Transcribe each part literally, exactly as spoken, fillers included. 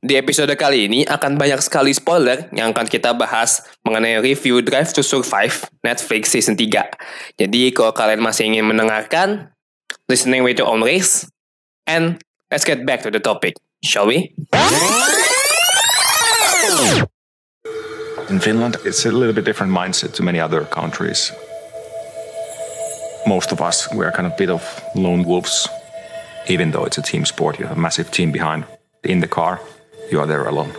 Di episode kali ini akan banyak sekali spoiler yang akan kita bahas mengenai review Drive to Survive Netflix Season tiga. Jadi kalau kalian masih ingin mendengarkan, listening with your own risk, and let's get back to the topic, shall we? In Finland, it's a little bit different mindset to many other countries. Most of us, we are kind of a bit of lone wolves. Even though it's a team sport, you have a massive team behind. In the car, you are there alone.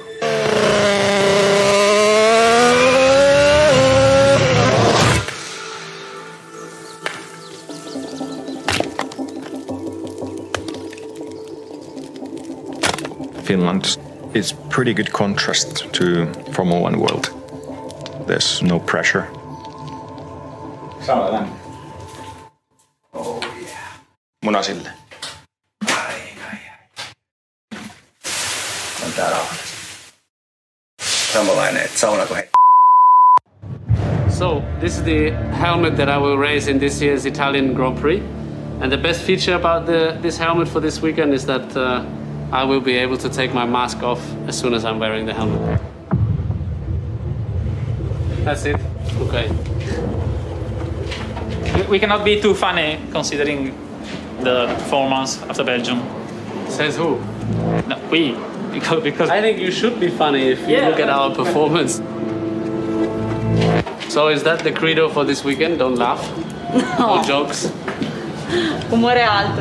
Finland is pretty good contrast to Formula One world. There's no pressure. Sama lämmin. Oh yeah. Munasille. Ai, ai, ai. On tää rauhallista. Samanlainen, että saunako hei. So, this is the helmet that I will race in this year's Italian Grand Prix. And the best feature about the, this helmet for this weekend is that uh, I will be able to take my mask off as soon as I'm wearing the helmet. That's it? Okay. We cannot be too funny considering the performance after Belgium. Says who? No, we. Because, because I think you should be funny if you Yeah. look at our performance. So is that the credo for this weekend? Don't laugh? No. No jokes? Umore alto.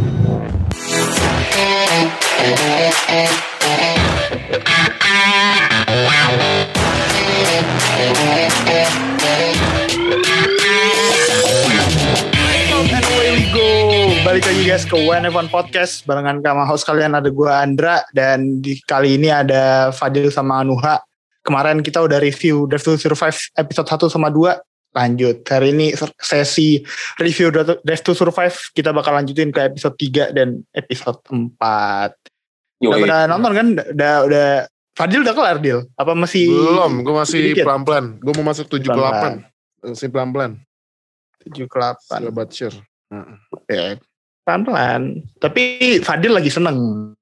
And away we go. Balik lagi guys ke W N F one Podcast. Barengan sama host kalian ada gue Andra. Dan di kali ini ada Fadil sama Nuha. Kemarin kita udah review Drive to Survive episode satu sama dua. Lanjut. Hari ini sesi review Drive to Survive. Kita bakal lanjutin ke episode tiga dan episode empat. Udah pada nonton kan? Udah, udah. Fadil udah kelar, Dil? Apa masih? Belum, gue masih sedikit? pelan-pelan. Gue mau masuk tujuh ke delapan. Masih pelan-pelan. tujuh ke delapan. Sahabat share. Ya, pelan-pelan. Tapi Fadil lagi seneng.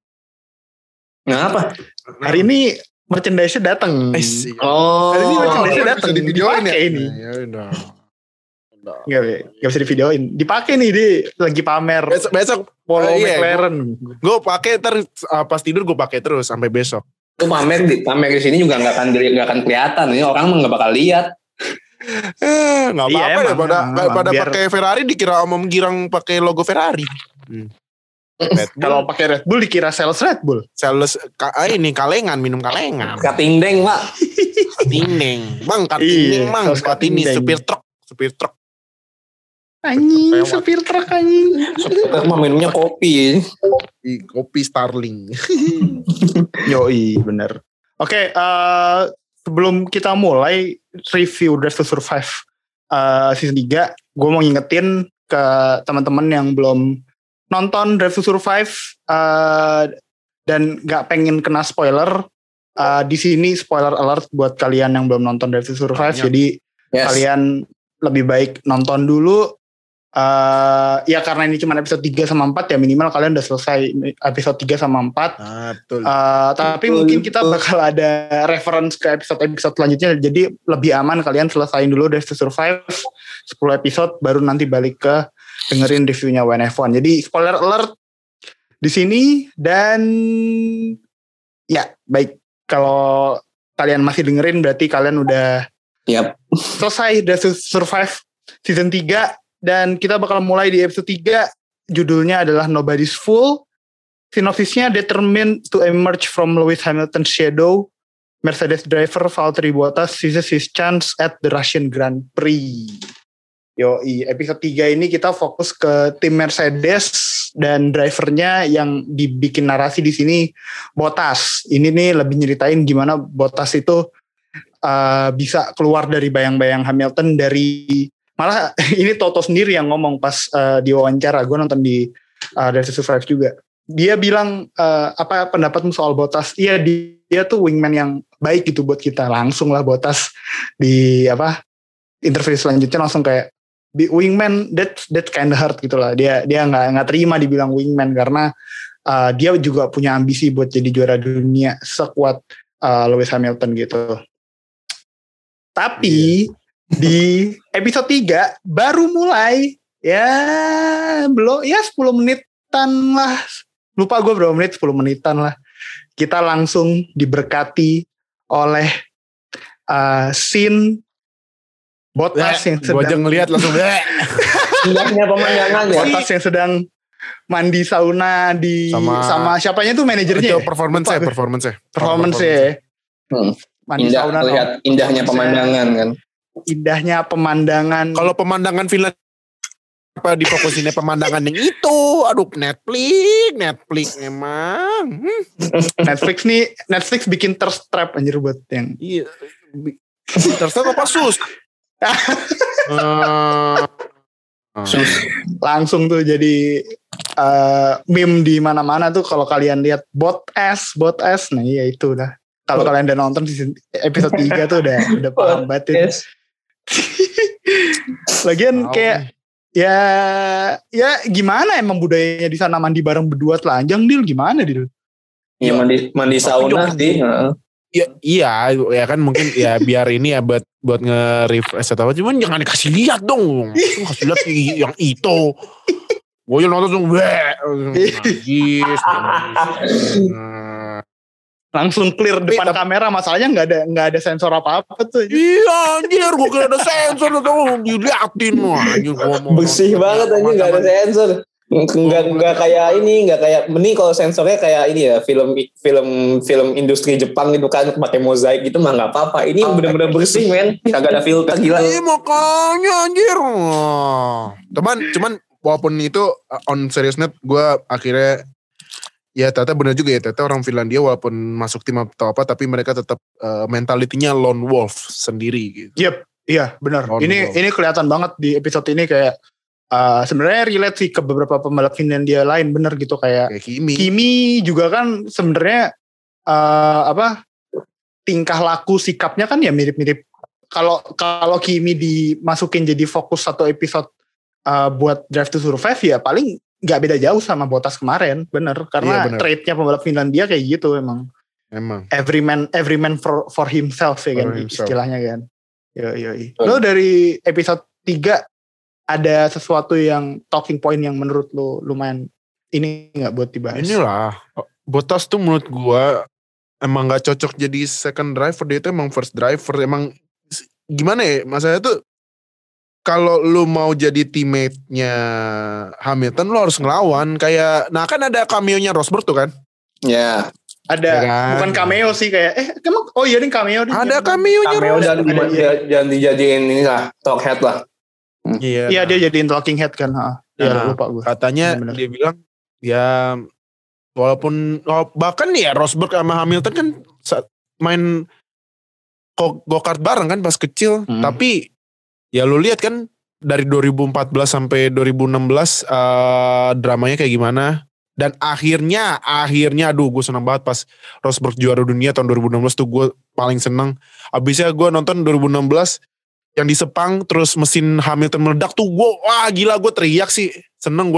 Kenapa? Hari ini merchandise-nya datang. Oh, Hari ini merchandise-nya bisa datang. divideoin ya? Dipakai ini. Ya udah. Udah. Nggak, nggak bisa divideoin. Dipakai nih, dia lagi pamer. Besok, besok Polo uh, iya, McLaren. gue pakai ter uh, pas tidur gue pakai terus sampai besok. itu pamer di pamer di sini juga nggak akan nggak akan kelihatan. Ini orang mah nggak bakal lihat. Eh, nggak Iya, apa-apa emang, ya. Pada emang, pada biar- pakai Ferrari dikira omong girang pakai logo Ferrari. Hmm. Red Bull, Kalau pakai Red Bull dikira sales Red Bull. sales ka, ah, ini kalengan minum kalengan. Katingdeng, Pak. Kartindeng, bang Iya, kartindeng bang. saus Kartini kartindeng. supir truk, supir truk. Anjing, Lewat. supir truk anjing. Kita mah minumnya kopi. Di kopi Starling. Yoi, bener. Oke, eh, sebelum kita mulai review Drive to Survive eh, season tiga, gue mau ngingetin ke teman-teman yang belum nonton Drive to Survive eh, dan gak pengen kena spoiler. eh, di sini spoiler alert buat kalian yang belum nonton Drive to Survive. Banyak. Jadi Yes. kalian lebih baik nonton dulu. eh, ya karena ini cuma episode tiga sama empat ya, minimal kalian udah selesai episode tiga sama empat. Ah, betul. Uh, tapi Betul, mungkin kita betul. bakal ada reference ke episode-episode selanjutnya. Jadi lebih aman kalian selesain dulu Drive to Survive sepuluh episode baru nanti balik ke dengerin reviewnya W N F one. Jadi spoiler alert di sini. Dan ya baik, kalau kalian masih dengerin berarti kalian udah Yap. selesai Drive to Survive season tiga. Dan kita bakal mulai di episode tiga. Judulnya adalah Nobody's Fool. Sinopsisnya, determined to emerge from Lewis Hamilton's shadow, Mercedes driver Valtteri Bottas seizes his chance at the Russian Grand Prix. Yoi, episode tiga ini kita fokus ke tim Mercedes dan drivernya yang dibikin narasi di sini Bottas. Ini nih lebih nyeritain gimana Bottas itu uh, bisa keluar dari bayang-bayang Hamilton dari, malah ini Toto sendiri yang ngomong pas uh, di wawancara. Gue nonton di uh, Drive to Survive juga. Dia bilang uh, apa pendapatmu soal Bottas? Iya, dia, dia tuh wingman yang baik gitu buat kita. Langsung lah Bottas di apa interview selanjutnya langsung kayak wingman that that kind of hard gitu lah. Dia dia nggak nggak terima dibilang wingman karena uh, dia juga punya ambisi buat jadi juara dunia sekuat uh, Lewis Hamilton gitu. Tapi yeah. di episode tiga baru mulai ya belum ya sepuluh menitan lah. Lupa gue berapa menit, sepuluh menitan lah. Kita langsung diberkati oleh uh, scene Bottas yang sedang... Gue aja ngeliat langsung indahnya pemandangan ya. Bottas yang sedang mandi sauna di... Sama, sama siapanya tuh manajernya itu performance ya? Performance ya? Performance ya. Hmm. Mandi Indah, sauna. Lihat indahnya pemandangan kan. Indahnya pemandangan. Kalau pemandangan Finland apa difokusinnya pemandangan yang itu, aduh Netflix, Netflix emang. Hmm. Netflix nih, Netflix bikin thirst trap anjir buat yang. Iya. Thirst trap apa sus? uh, sus. Langsung tuh jadi uh, meme di mana-mana tuh kalau kalian lihat bot S, bot S, nah iya itu udah. Kalau kalian udah nonton di episode tiga tuh udah udah paham banget itu. Lagian wow. kayak ya ya gimana emang budayanya di sana mandi bareng berdua telanjang Dil gimana Dil? Iya mandi mandi sauna sih. Ya, iya ya kan mungkin ya biar ini ya buat buat nge-refresh atau apa cuman jangan dikasih lihat dong. Kasih lihat yang itu. Gue yang nonton dong najis. Langsung clear depan tapi, kamera masalahnya nggak ada nggak ada sensor apa apa tuh. Iya anjir gue kira ada sensor tuh diliatin mah anjir bersih banget aja nggak ada sensor nggak nggak kayak ini nggak kayak mending kalau sensornya kayak ini ya film film film industri Jepang gitu kan pakai mozaik gitu mah nggak apa-apa ini oh, bener-bener bersih men kagak ada filter gila. Iya makanya anjir teman cuman walaupun itu on serious net gue akhirnya ya ternyata benar juga ya, ternyata orang Finlandia walaupun masuk tim atau apa, tapi mereka tetap uh, mentalitinya lone wolf sendiri gitu. Yep, iya benar. Ini wolf. Ini kelihatan banget di episode ini kayak uh, sebenarnya relate sih ke beberapa pembalap Finlandia lain benar gitu kayak, kayak Kimi. Kimi juga kan sebenarnya uh, apa tingkah laku sikapnya kan ya mirip-mirip. Kalau kalau Kimi dimasukin jadi fokus satu episode uh, buat Drive to Survive ya paling nggak beda jauh sama Bottas kemarin, bener karena iya, trait-nya pembalap Finlandia kayak gitu emang. Emang. Every man, every man for, for himself ya for kan himself. Istilahnya kan. Yo yo. Lo dari episode tiga ada sesuatu yang talking point yang menurut lo lumayan ini nggak buat dibahas? Inilah Bottas tuh menurut gua emang nggak cocok jadi second driver, dia itu emang first driver. Emang gimana ya? Masalahnya tuh kalau lu mau jadi teammate-nya Hamilton, lu harus ngelawan. Kayak, nah kan ada cameo-nya Rosberg tuh kan? Ya. Ada, ya kan? Bukan cameo sih kayak, eh emang, oh iya ini cameo. Ada cameo-nya cameo Rosberg. Cameo dan jangan dijadiin ini lah, talk head lah. Iya, iya nah. Dia jadiin talking head kan. Ha. Ya nah, lupa gue. Katanya bener-bener. Dia bilang, ya walaupun, bahkan ya Rosberg sama Hamilton kan main go-kart bareng kan pas kecil. Hmm. Tapi, ya lu lihat kan dari dua ribu empat belas sampai dua ribu enam belas uh, dramanya kayak gimana. Dan akhirnya, akhirnya aduh gue senang banget pas Rosberg juara dunia tahun dua ribu enam belas tuh gue paling seneng. Abisnya gue nonton dua ribu enam belas yang di Sepang terus mesin Hamilton meledak tuh gue wah gila gue teriak sih. Seneng gue.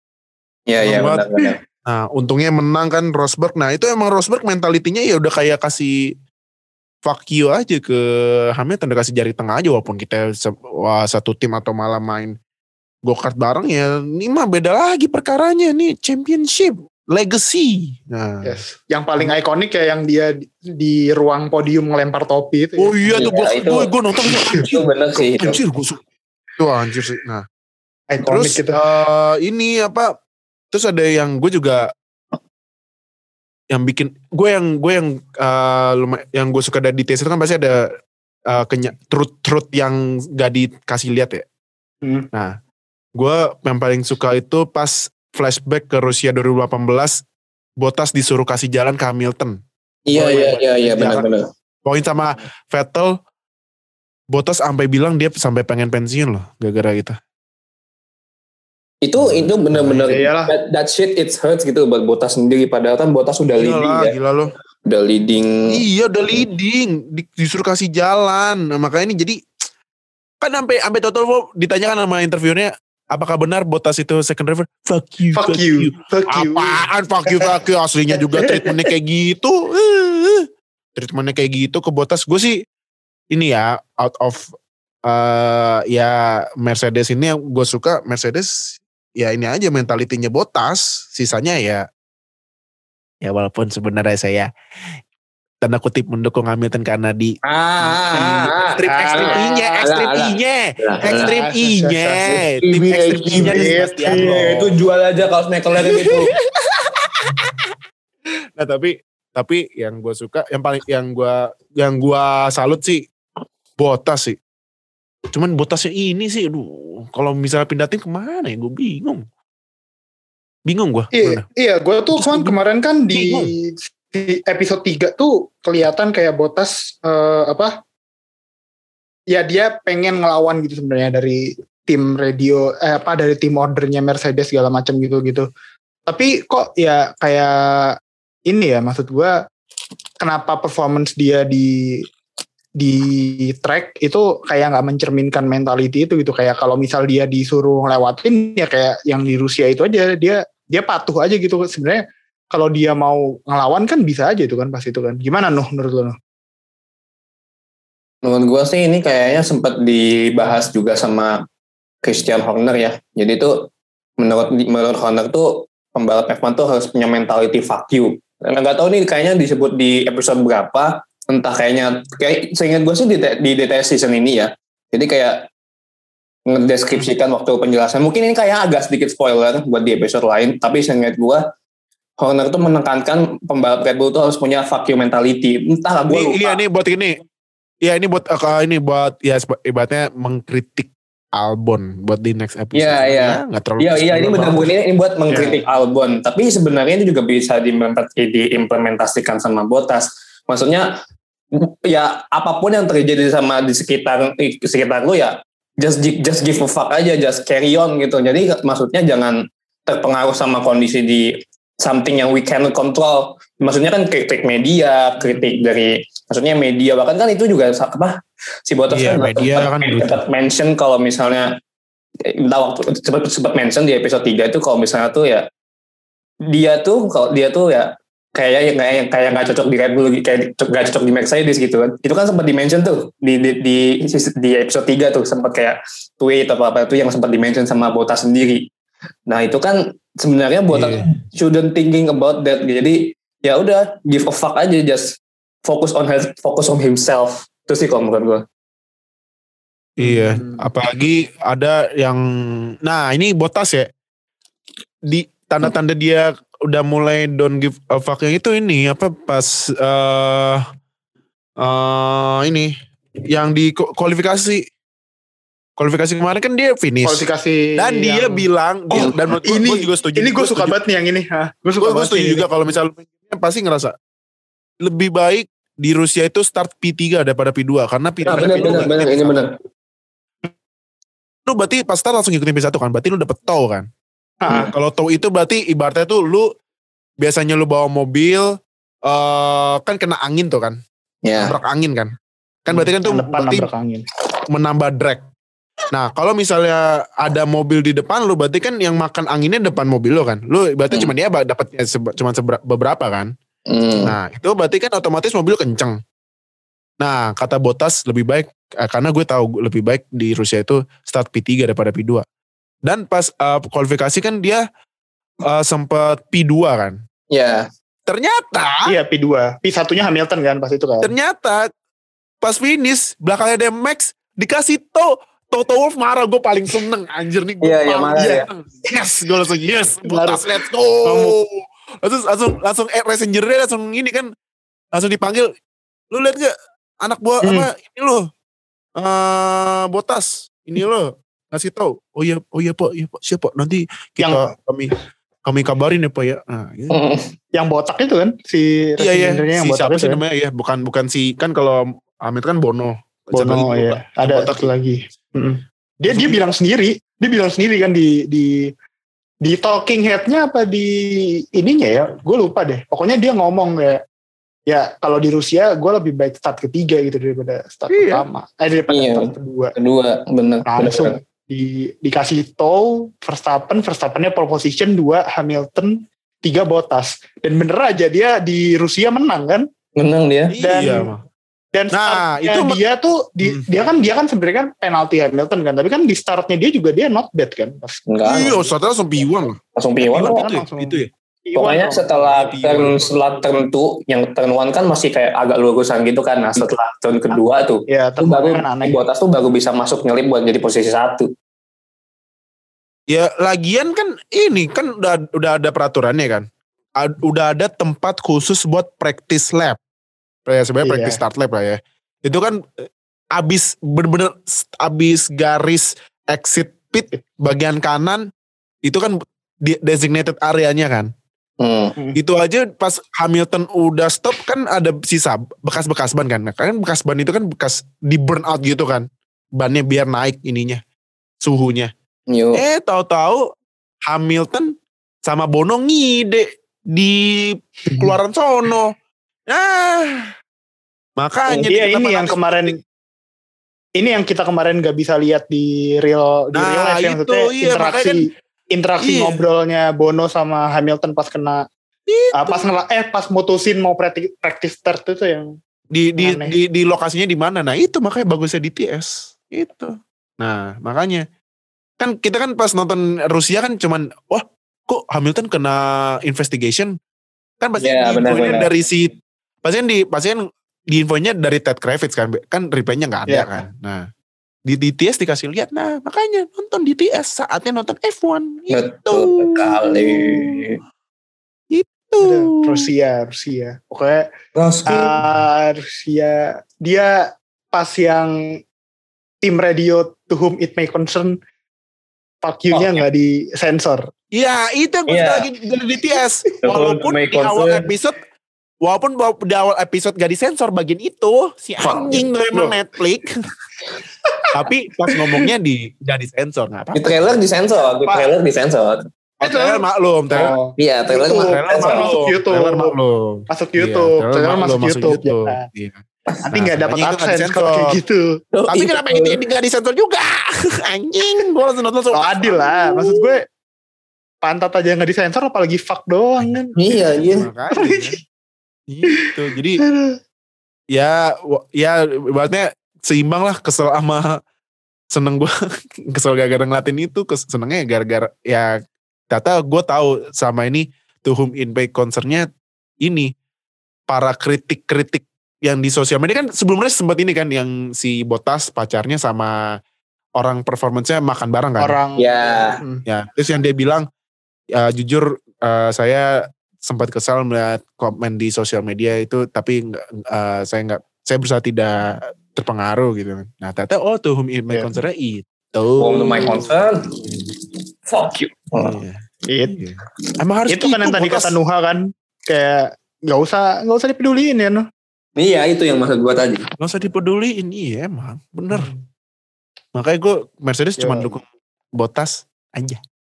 Iya iya benar-benar. Nah untungnya menang kan Rosberg. Nah itu emang Rosberg mentalitinya ya udah kayak kasih fuck you aja ke Hamilton, udah kasih jari tengah aja walaupun kita wah, satu tim atau malah main go-kart bareng ya ini mah beda lagi perkaranya nih championship legacy. Nah, yes. Yang paling ikonik ya yang dia di, di ruang podium ngelempar topi itu. Oh iya ya, tuh gue gue nonton itu bener sih. Anjir gue suka. Itu anjir sih. Nah, ikonik terus uh, ini apa? Terus ada yang gue juga yang bikin gue yang gue yang uh, lumay, yang gue suka dari detail itu kan pasti ada uh, kenya, truth-truth yang gak dikasih lihat ya. Hmm. Nah, gue yang paling suka itu pas flashback ke Rusia dua ribu delapan belas, Bottas disuruh kasih jalan ke Hamilton. Iya iya iya iya benar-benar. Poin sama Vettel, Bottas sampai bilang dia sampai pengen pensiun loh gara-gara gitu. Itu itu benar-benar nah, that, that shit it hurts gitu buat Bottas sendiri padahal kan Bottas udah gila leading lah, ya. Gila lo. Udah leading. Iya udah leading, disuruh kasih jalan. Nah, makanya ini jadi kan sampai sampai total ditanyakan sama interviewnya apakah benar Bottas itu second driver? Fuck you, Fuck you, fuck you. Apaan fuck you, fuck you? Aslinya juga treatmentnya kayak gitu. Treatmentnya kayak gitu ke Bottas. Gue sih ini ya out of uh, ya Mercedes ini yang gue suka Mercedes ya ini aja mentalitinya Bottas. Sisanya ya ya walaupun sebenarnya saya tanda kutip mendukung Hamilton karena di Ah, ekstrim ekstrim I-nya, ekstrim I-nya, ekstrim I-nya, tim ekstrim I-nya di Sebastian Loeb. Itu jual aja kalau McLaren itu. Nah tapi tapi yang gue suka, yang paling yang gue yang gue salut sih Bottas sih. Cuman Bottasnya ini sih, aduh, kalau misalnya pindah tim kemana ya? Gue bingung, bingung gue. Iya, iya gue tuh kan kemarin kan di bingung. Di episode tiga tuh kelihatan kayak Bottas uh, apa ya dia pengen ngelawan gitu sebenarnya dari tim radio eh, apa dari tim ordernya Mercedes segala macam gitu gitu tapi kok ya kayak ini ya maksud gue kenapa performance dia di di track itu kayak nggak mencerminkan mentality itu gitu kayak kalau misal dia disuruh ngelewatin ya kayak yang di Rusia itu aja dia dia patuh aja gitu sebenarnya. Kalau dia mau ngelawan kan bisa aja itu kan pas itu kan. Gimana Nuh menurut lo Nuh? Menurut gue sih ini kayaknya sempat dibahas juga sama Christian Horner ya. Jadi itu menurut menurut Horner tuh pembalap F satu tuh harus punya mentality fuck you. Dan nggak tahu nih kayaknya disebut di episode berapa. Entah kayaknya kayak seingat gue sih di, di D T S season ini ya. Jadi kayak ngedeskripsikan waktu penjelasan. Mungkin ini kayak agak sedikit spoiler buat di episode lain. Tapi seingat gue Horner tuh menekankan pembalap Red Bull tuh harus punya fuck you mentality. Entah gue lupa. Iya ini buat ini. Iya ini buat uh, ini buat ya ibaratnya mengkritik Albon buat di next episode. Iya iya. Enggak terlalu. Iya iya ini benar-benar ini, ini buat mengkritik yeah. Albon. Tapi sebenarnya itu juga bisa diimplementasikan sama Bottas. Maksudnya ya apapun yang terjadi sama di sekitar di sekitar lu ya just just give a fuck aja, just carry on gitu. Jadi maksudnya jangan terpengaruh sama kondisi di something yang we cannot control. Maksudnya kan kritik media, kritik dari maksudnya media bahkan kan itu juga apa si Bottas iya, kan media sempat, kan sempat mention kalau misalnya entah waktu sempat sempat mention di episode tiga itu kalau misalnya tuh ya dia tuh kalau dia tuh ya kayak kayak kayak nggak cocok di Red Bull kayak nggak cocok di Mercedes gitu kan. Itu kan sempat di mention tuh di di di, di episode tiga tuh sempat kayak tweet atau apa itu yang sempat di mention sama Bottas sendiri. Nah itu kan sebenarnya buat yeah. shouldn't thinking about that. Jadi ya udah give a fuck aja, just focus on health, focus on himself. Itu sih kalau menurut gue. Iya, apalagi ada yang, nah ini Bottas ya, di tanda-tanda dia udah mulai don't give a fuck yang itu ini apa pas uh, uh, ini yang di kualifikasi. Kualifikasi kemarin kan dia finish. Kualifikasi dan dia yang... bilang oh, dia, dan ini, gue juga setuju. Ini gue suka banget nih yang ini. Gue suka gue setuju juga kalau misalnya pasti ngerasa lebih baik di Rusia itu start P tiga daripada P dua karena P tiga. Nah, benar, benar, benar, ini benar. Lu berarti pas start langsung ngikutin P satu kan? Berarti lu dapet tow kan? Hmm. Kalau tow itu berarti ibaratnya tuh lu biasanya lu bawa mobil uh, kan kena angin tuh kan? Yeah. Nabrak angin kan? Kan berarti kan tuh depan berarti angin. Menambah drag. Nah kalau misalnya ada mobil di depan lu berarti kan yang makan anginnya depan mobil lu kan? Lu berarti hmm. cuma dia dapatnya seba, cuma sebera, beberapa kan? Hmm. Nah itu berarti kan otomatis mobil kenceng. Nah kata Bottas lebih baik eh, karena gue tahu lebih baik di Rusia itu start P tiga daripada P dua. Dan pas uh, kualifikasi kan dia uh, sempat P dua kan? Iya. Yeah. Ternyata. Iya P dua. P satunya Hamilton kan pas itu kan? Ternyata pas finish belakangnya ada Max dikasih tow. Toto Wolff marah, gue paling seneng anjir nih gue yeah, yeah, marah, ya. Yes gue langsung yes Bottas let's go langsung langsung langsung eh, messengernya langsung ini kan langsung dipanggil lu lihat gak anak buah hmm. apa ini lo uh, Bottas ini lo ngasih tahu oh iya oh iya pak iya pak siapa nanti kita yang, kami kami kabarin ya pak ya nah, gitu. Yang botak itu kan si iya iya yang si botak siapa itu sih namanya ya bukan bukan si kan kalau Amit kan Bono Bono ya ada satu lagi. Mm-hmm. Dia dia bilang sendiri, dia bilang sendiri kan di di di talking head-nya apa di ininya ya, gue lupa deh. Pokoknya dia ngomong ya, ya kalau di Rusia gue lebih baik start ketiga gitu daripada start iya. pertama, eh daripada iya. start kedua. Kedua, benar. Langsung, di dikasih tow Verstappen, Verstappennya pole position, dua Hamilton, tiga Bottas. Dan bener aja dia di Rusia menang kan? Menang dia. Dan Iya, mah. dan Nah, startnya itu dia tuh di, Hmm. dia kan dia kan sebenarnya kan penalti Hamilton kan, tapi kan di startnya dia juga dia not bad kan pas Enggak. Iya, saudara langsung P satu lah. Langsung P satu. P satu kan itu, ya? langsung. itu ya. Pokoknya Iwan, setelah P satu. turn setelah turn two, yang turn one kan masih kayak agak lurusan gitu kan. Nah setelah turn kedua tuh, ya itu baru teman aneh. Bottas tuh baru bisa masuk nyelip buat jadi posisi satu. Ya lagian kan ini kan udah udah ada peraturannya kan. Ad- udah ada tempat khusus buat practice lap. Ya sebenarnya Iya. practice start lap lah ya. Itu kan eh, abis bener-bener abis garis exit pit bagian kanan itu kan di- designated areanya kan. Hmm. Itu aja pas Hamilton udah stop kan ada sisa bekas-bekas ban kan. Nah, kan bekas ban itu kan bekas di burn out gitu kan. Bannya biar naik ininya suhunya. Yuk. Eh tahu-tahu Hamilton sama Bono ngide di keluaran sono. Nah, makanya Iya kita ini yang menangis. kemarin ini yang kita kemarin nggak bisa lihat di real di Nah, real life yang itu, maksudnya iya, interaksi makanya interaksi iya. ngobrolnya Bono sama Hamilton pas kena Itu. ah, pas ngela, eh pas mutusin mau practice, practice start itu yang di di, aneh. di di lokasinya di mana? Nah, itu makanya bagusnya D T S. Itu. Nah, makanya kan kita kan pas nonton Rusia kan cuman wah, kok Hamilton kena investigation? Kan pasti Iya, di infonya benar-benar. dari si pasti kan di pasti kan di infonya dari Ted Kravitz kan kan replaynya nggak ada Iya. kan. Nah, di D T S dikasih lihat. Nah, makanya nonton D T S saatnya nonton F satu. Betul sekali. Itu. Aduh, Rusia Rusia pokoknya ah, Rusia dia pas yang tim radio to whom it may concern fuck you-nya Oh, nggak disensor. Iya, itu yang gue Iya. suka lagi dari D T S. Betul, Walaupun make di awal concern. episode, walaupun di awal episode gak disensor bagian itu, si anjing tuh emang Loh. Netflix. Tapi pas ngomongnya di gak disensor, nggak Di apa-apa. trailer disensor, di Pak. trailer disensor. Oh, trailer maklum, trailer, Oh, Iya, trailer Itu. mah trailer disensor. masuk maklum, YouTube. trailer maklum. masuk Iya, YouTube, trailer trailer maklum, masuk YouTube, ya. Iya. Nanti Nah, nggak dapat makanya itu nggak AdSense kalau kayak disensor. gitu. Oh, Tapi iya, kenapa betul. ini gak disensor juga? Anjing, gue langsung nonton langsung. Oh, adil lah, maksud gue pantat aja nggak disensor apalagi fuck doang kan. Iya, iya. Makanya, kan. Gitu, jadi ya wa- ya ibaratnya seimbang lah, kesel sama seneng gue kesel gara-gara ngeliatin itu, kes, senengnya gara-gara ya ternyata gue tahu sama ini to whom it may concernnya ini para kritik-kritik yang di sosial media kan sebelumnya sempat ini kan yang si Bottas pacarnya sama orang performance-nya makan bareng kan. Orang Ya. Hmm. Ya, terus yang dia bilang, ya, jujur uh, saya sempat kesal melihat komen di sosial media itu, tapi nggak, uh, saya nggak, saya berusaha tidak terpengaruh gitu. Nah, ternyata oh to whom it may Yeah. concern itu. Home to my concern. Fuck you. Iya. It, Iya. Emang harus itu kan yang tadi Bottas. kata Nuha kan, kayak nggak usah nggak usah dipeduliin ya Nuh. Iya, itu yang maksud gua tadi. Nggak usah dipeduliin, iya emang bener. Makanya gue Mercedes Ya. cuma dukung Bottas aja.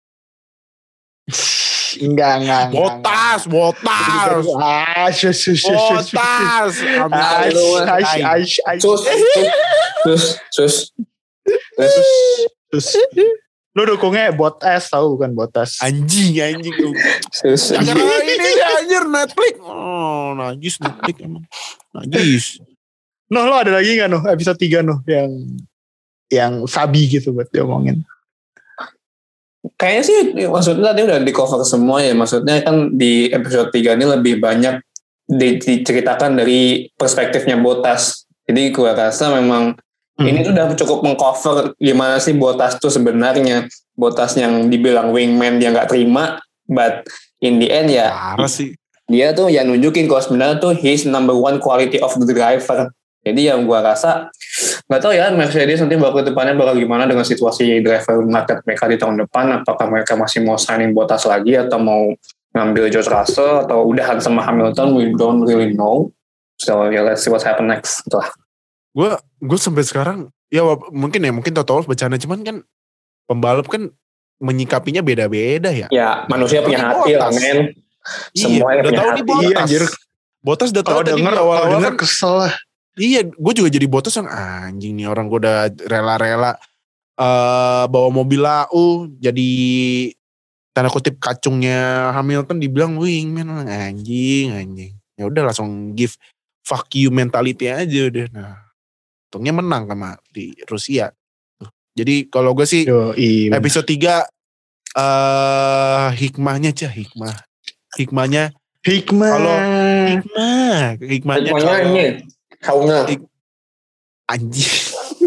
Enggak enggak. enggak, Botas, botas, enggak. Ah, shush, shush, shush, shush, shush. botas. Ah, Lu, aish, aish, aish, aish. Sus, sus, sus, sus. Terus lu dukungnya Bottas tahu bukan Bottas. Anjing, anjing. Sus. Karena ini anjir Netflix. Oh, najis Netflix emang. Najis. Nuh lo ada lagi nggak Nuh episode tiga Nuh yang yang sabi gitu buat diomongin. Kayaknya sih maksudnya tadi udah di cover semua ya. Maksudnya kan di episode tiga ini lebih banyak di- diceritakan dari perspektifnya Bottas. Jadi gue rasa memang Hmm. ini tuh udah cukup mengcover gimana sih Bottas tuh sebenarnya. Bottas yang dibilang wingman dia nggak terima, but in the end ya Parah sih. dia tuh ya nunjukin kalau sebenarnya tuh his number one quality of the driver. Jadi yang gua rasa nggak tahu ya Mercedes nanti bakal depannya bakal gimana dengan situasi driver market mereka di tahun depan. Apakah mereka masih mau signing Bottas lagi atau mau ngambil George Russell atau udahan sama Hamilton? We don't really know. So yeah, let's see what happen next. Itulah. Gue gue sampai sekarang ya wap- mungkin ya mungkin total bercanda cuman kan pembalap kan menyikapinya beda-beda ya. Ya manusia punya Ini hati lah Bottas. men. Iya, Semuanya udah punya tahu hati. nih Bottas. Iya, anjir. Bottas udah tahu Kalau tadi denger di kalau awal-awal denger kan. kesel lah. Iya, gue juga jadi Bottas yang anjing nih orang gue udah rela-rela uh, bawa mobil lau jadi tanda kutip kacungnya Hamilton, dibilang wingman, anjing anjing. Ya udah langsung give fuck you mentality aja udah. Nah, untungnya menang sama di Rusia. Jadi kalau gue sih Yoi, episode tiga uh, hikmahnya aja hikmah. Hikmahnya hikmah. Kalau hikmah, hikmahnya Pokoknya kalau ini sauna. hik- anjing.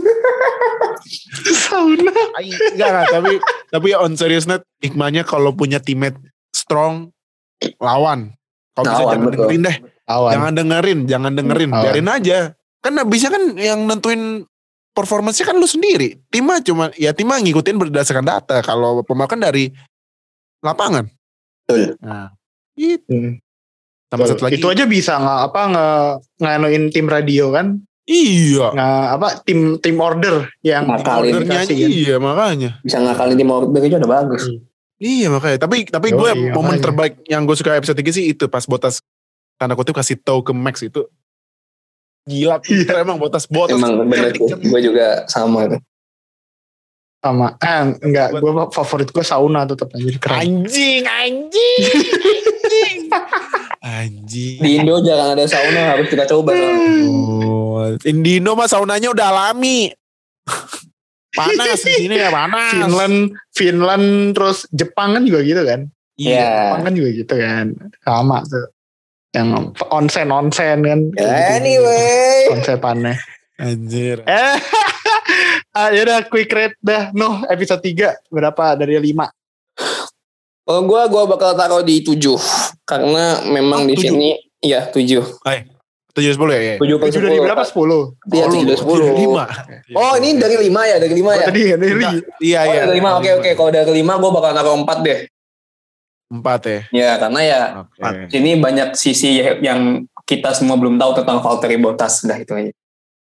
Sauna. Ay, enggak, enggak, tapi tapi on serious note, hikmahnya kalau punya teammate strong, lawan. Kalau bisa Lawan, jangan betul. dengerin deh. Awan. Jangan dengerin, jangan dengerin. Lawan. Biarin aja. Kan bisa kan yang nentuin performance kan lu sendiri. Tim mah cuma, ya tim mah ngikutin berdasarkan data. Kalau pemain kan dari lapangan. Betul. Nah, itu. Hmm. Tambah satu lagi. Itu aja bisa nggak apa nge nganuin tim radio kan? Iya. Nggak apa tim tim order yang Ngakalin. Ordernya dikasih kan? iya makanya. Bisa ngakalin tim order aja udah bagus. Iya makanya. Tapi tapi Yoi, gue makanya. momen terbaik yang gue suka episode tiga sih itu pas Bottas tanda kutip kasih tahu ke Max itu. Gila pinter emang Bottas Bottas. Emang bener tuh. Gue juga sama tuh. sama eh enggak gue favorit gue sauna tetap anjir keren. Anjing anjing. anjing. Anjing. Di Indo jarang ada sauna, harus kita coba. Oh, Indino mah saunanya udah alami. Panas di sini ya panas. Finland Finland terus Jepang kan juga gitu kan. Iya. Jepang kan juga gitu kan. Sama tuh. Yang onsen onsen kan. Anyway. Konsepannya. Anjir. Eh, ah, yaudah quick rate dah. Noh, episode tiga berapa dari lima? Oh, gue gua bakal taruh di tujuh karena memang Oh, di tujuh. sini iya tujuh. Hai. tujuh sepuluh ya? tujuh ke tujuh dari sepuluh. berapa? sepuluh. Iya, tujuh dari sepuluh. lima. Oh, ini dari lima ya, dari lima Oh, ya. tadi dari Iya, Oh, iya. dari lima. Oke, oke. Kalau dari lima gue bakal taruh empat deh. Empat ya. Ya, karena ya Oke. ini banyak sisi yang kita semua belum tahu tentang Valtteri Bottas. Udah itu aja.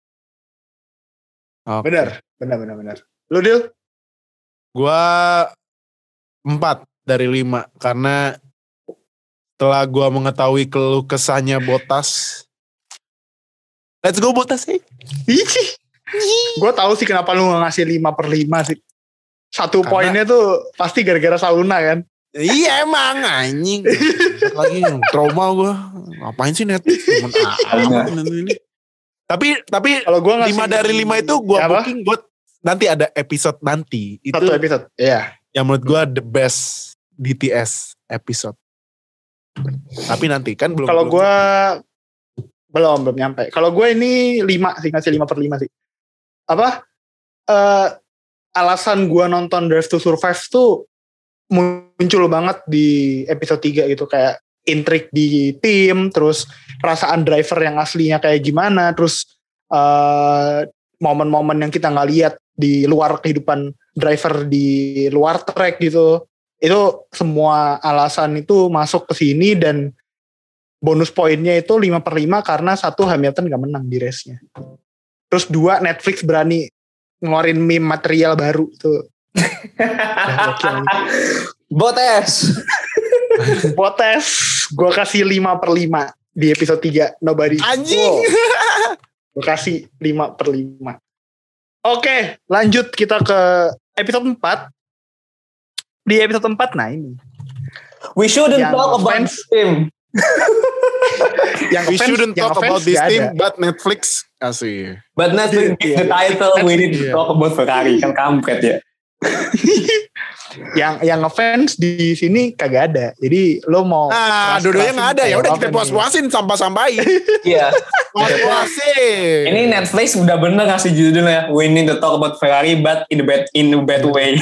Oke. Benar, benar, benar, benar. Lu Dil? Gua empat dari lima karena setelah gua mengetahui keluh kesahnya Bottas, let's go Bottas sih. Gue tahu sih kenapa lu gak ngasih lima per lima sih. Satu Karena- poinnya tuh pasti gara-gara sauna kan. Iya emang anjing. Lagi trauma gua. Ngapain sih Netflix? Temen amat ini. Tapi tapi Kalau gue ngasih lima dari lima itu gua apa? booking buat nanti ada episode nanti. Itu Satu episode. Iya. yang menurut gua the best D T S episode. Tapi nanti kan belum. Kalau belum- gue belum belum nyampe. Kalau gue ini lima sih, ngasih lima per lima sih. Apa? Eh alasan gue nonton Drive to Survive tuh muncul banget di episode tiga gitu, kayak intrik di tim, terus perasaan driver yang aslinya kayak gimana, terus eh momen-momen yang kita nggak lihat di luar kehidupan driver di luar track gitu. Itu semua alasan itu masuk ke sini, dan bonus poinnya itu lima per lima karena satu, Hamilton gak menang di race-nya. Terus dua, Netflix berani ngeluarin meme material baru tuh. Bottas. Bottas gue kasih lima per lima di episode tiga. Nobody. Anjing. Gue kasih lima per lima. Oke, lanjut kita ke episode empat. Di episode empat, nah ini. We shouldn't Yang talk about fans- him. Yang We offense- shouldn't yang talk offense about this gak team, ada. but Netflix asih. But Netflix Iya. the title we need to Iya. talk about Ferrari. Kan kampret ya. yang yang ngefans di sini kagak ada. Jadi lo mau Ah, keras-kerasin dua-duanya nggak ada. Ya kayak udah apa kita nih? puas-puasin, sampah-sampahin. Iya. Puas-puasin. Ini Netflix udah bener ngasih judulnya We need to talk about Ferrari but in a bad in a bad way.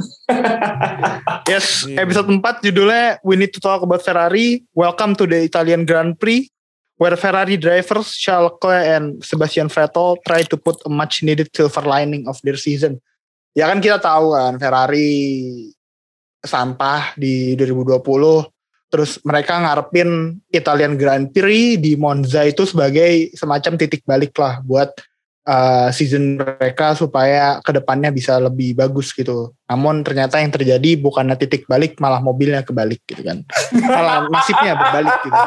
Yes, episode empat judulnya We Need to Talk About Ferrari. Welcome to the Italian Grand Prix, where Ferrari drivers Charles Leclerc and Sebastian Vettel try to put a much needed silver lining of their season. Ya kan kita tahu kan Ferrari sampah di dua ribu dua puluh. Terus mereka ngarepin Italian Grand Prix di Monza itu sebagai semacam titik balik lah buat uh, season mereka supaya kedepannya bisa lebih bagus gitu. Namun ternyata yang terjadi bukannya titik balik, malah mobilnya kebalik gitu kan. Malah nasibnya berbalik gitu.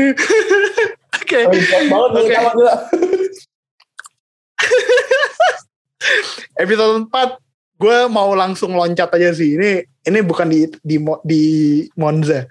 Oke. Banget Oke. sama gua. episode empat gue mau langsung loncat aja sih. Ini ini bukan di di di Monza.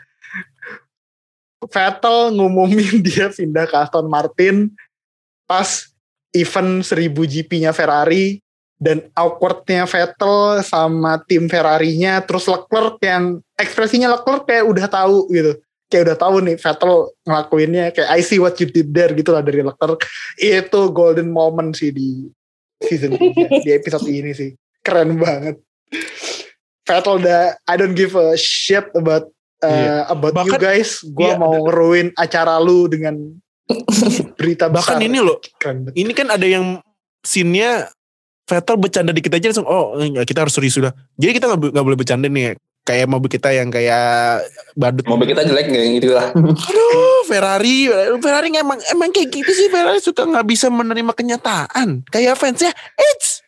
Vettel ngumumin dia pindah ke Aston Martin pas event seribu G P-nya Ferrari, dan awkwardnya Vettel sama tim Ferrari-nya, terus Leclerc yang ekspresinya Leclerc kayak udah tahu gitu, kayak udah tahu nih Vettel ngelakuinnya, kayak I see what you did there gitu lah dari Leclerc. Itu golden moment sih di season tiga, di episode ini sih keren banget. Vettel udah I don't give a shit about uh, yeah. about bahkan, you guys, gue yeah, mau ngeruin acara lu dengan berita besar. Bahkan ini loh, ini kan ada yang scene-nya Vettel bercanda dikit aja langsung, oh kita harus serius sudah. Jadi kita gak, gak boleh bercanda nih, kayak mobil kita yang kayak badut. Mobil kita jelek gak gitu lah. Aduh, Ferrari, Ferrari emang emang kayak gitu sih. Ferrari suka gak bisa menerima kenyataan. Kayak fansnya, it's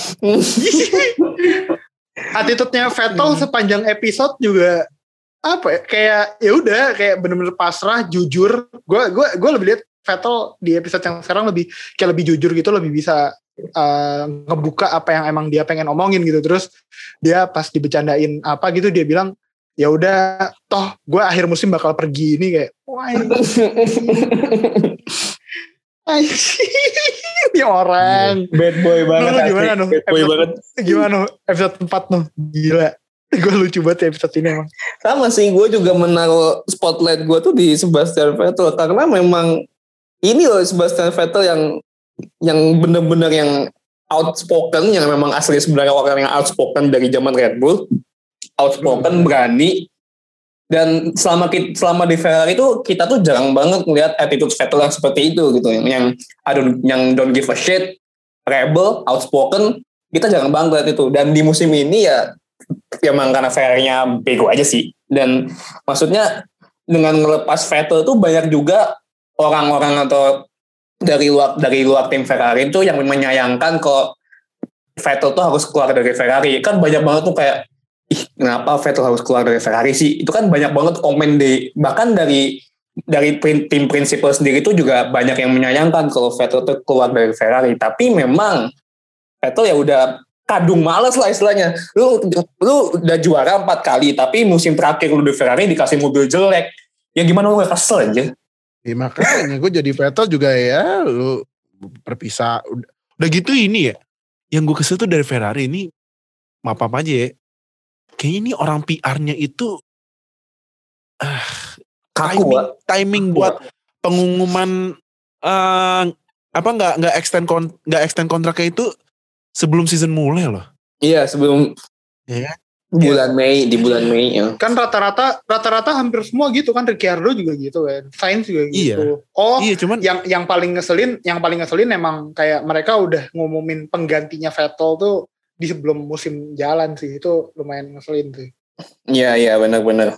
attitude-nya Vettel sepanjang episode juga apa ya, kayak ya udah kayak bener-bener pasrah, jujur. Gue gue gue lebih lihat Vettel di episode yang sekarang lebih kayak lebih jujur gitu, lebih bisa uh, ngebuka apa yang emang dia pengen omongin gitu. Terus dia pas dibecandain apa gitu dia bilang, ya udah toh gue akhir musim bakal pergi. Ini kayak wah ini orang bad boy banget. Nuh, gimana nuh bad boy episode, banget gimana episode empat nuh, gila. Gue lucu banget episode ini emang. Sama sih, gue juga menaruh spotlight gue tuh di Sebastian Vettel, karena memang ini loh Sebastian Vettel yang yang bener-bener yang outspoken, yang memang asli sebenarnya orang yang outspoken dari zaman Red Bull, outspoken, hmm. berani. Dan selama kita, selama di Ferrari itu kita tuh jarang banget ngeliat attitude Vettel yang seperti itu gitu, yang yang don't, yang don't give a shit, rebel, outspoken, kita jarang banget lihat itu. Dan di musim ini ya ya emang karena Ferrari-nya bego aja sih. Dan maksudnya dengan ngelepas Vettel tuh banyak juga orang-orang atau dari luar dari luar tim Ferrari itu yang menyayangkan kalau Vettel tuh harus keluar dari Ferrari. Kan banyak banget tuh kayak, ih kenapa Vettel harus keluar dari Ferrari sih? Itu kan banyak banget komen di, bahkan dari dari tim prinsipal sendiri itu juga banyak yang menyayangkan kalau Vettel tuh keluar dari Ferrari. Tapi memang Vettel ya udah kadung males lah istilahnya. Lu lu udah juara empat kali, tapi musim terakhir lu di Ferrari dikasih mobil jelek. Ya gimana lu gak kesel aja? Ya makanya gue jadi Vettel juga ya, lu berpisah. Udah, udah gitu ini ya, yang gue kesel tuh dari Ferrari ini, maaf apa aja ya, kayaknya ini orang P R-nya itu uh, kaku, timing, Wak. timing kaku, buat Wak. pengumuman uh, apa nggak nggak extend kon, nggak extend kontraknya itu sebelum season mulai loh. Iya sebelum ya, bulan Mei, di bulan Mei ya. Kan rata-rata rata-rata hampir semua gitu kan, Ricciardo juga gitu kan, Sainz juga gitu. Iya. Oh, iya, cuman yang yang paling ngeselin, yang paling ngeselin emang kayak mereka udah ngumumin penggantinya Vettel tuh di sebelum musim jalan sih, itu lumayan ngeselin sih. Iya iya benar-benar.